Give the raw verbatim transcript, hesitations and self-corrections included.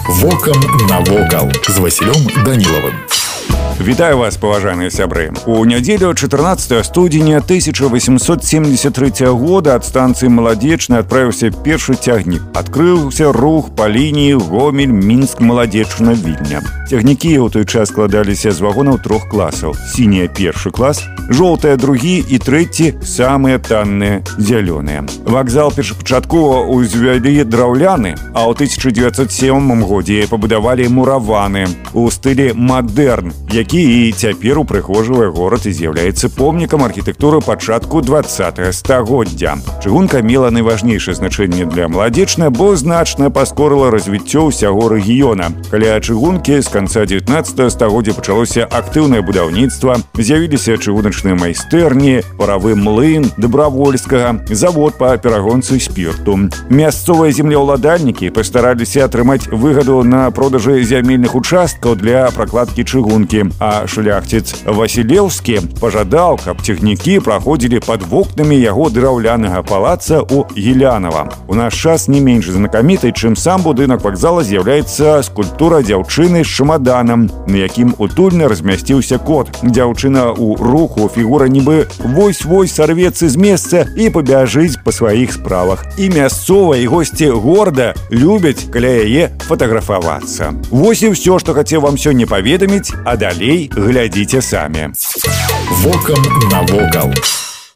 Вокам навокал з Васілём Данілавым. Вітаю вас, паважаныя сябры. У нядзелю чатырнаццатага студзеня тысяча восемьсот семьдесят третьего года ад станцыі Маладзечная адправіўся першы цягнік. Адкрыўся рух па лініі Гомель-Мінск-Маладзечна-Вільня. Цягнікі ў той час складаліся з вагонаў трох класаў. Сіняя першы клас, жоўтая другі і трэці самыя танныя зялёныя. Вакзал першапачаткова ўзвялі драўляны, а ў тысяча дзевяцьсот сёмым годзе пабудавалі мураваны у стылі мадэрн, які і цяпер упрыгожвае горад і з'яўляецца помнікам архітэктуры пачатку двадцатага стагоддзя. Чыгунка мела найважнейшае значэнне для Маладзечна, бо значна паскорыла развіццё ўсяго рэгіёна. Каля чыгункі з канца дзевятнаццатага стагоддзя пачалося актыўнае будаўніцтва, з'явіліся чыгуначныя майстэрні, паравы млын Дабравольскага, завод па перагонцы спірту. Мясцовыя землеўладальнікі пастараліся атрымаць выгаду на продажы зямельных участкаў для пракладкі чыгункі, а шляхціц Васілеўскі пажадаў, каб цягнікі праходзілі пад вокнамі яго драўлянага палаца ў Гілянава. У наш час не менш знакамітай, чым сам будынак вакзала, з'яўляецца скульптура дзяўчыны з чамаданам, на якім утульна размясціўся кот. Дзяўчына ў руху, фігура нібы вось-вось сарвецца з месца і пабяжыць па сваіх справах. І мясцовыя, і госці горада любяць каля яе фатаграфавацца. Вось і ўсё, што хацеў вам сёння паведаміць, а далей глядзіце самі. Вокам навокал.